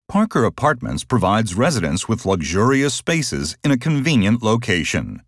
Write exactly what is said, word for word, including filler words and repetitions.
Parker Apartments provides residents with luxurious spaces in a convenient location.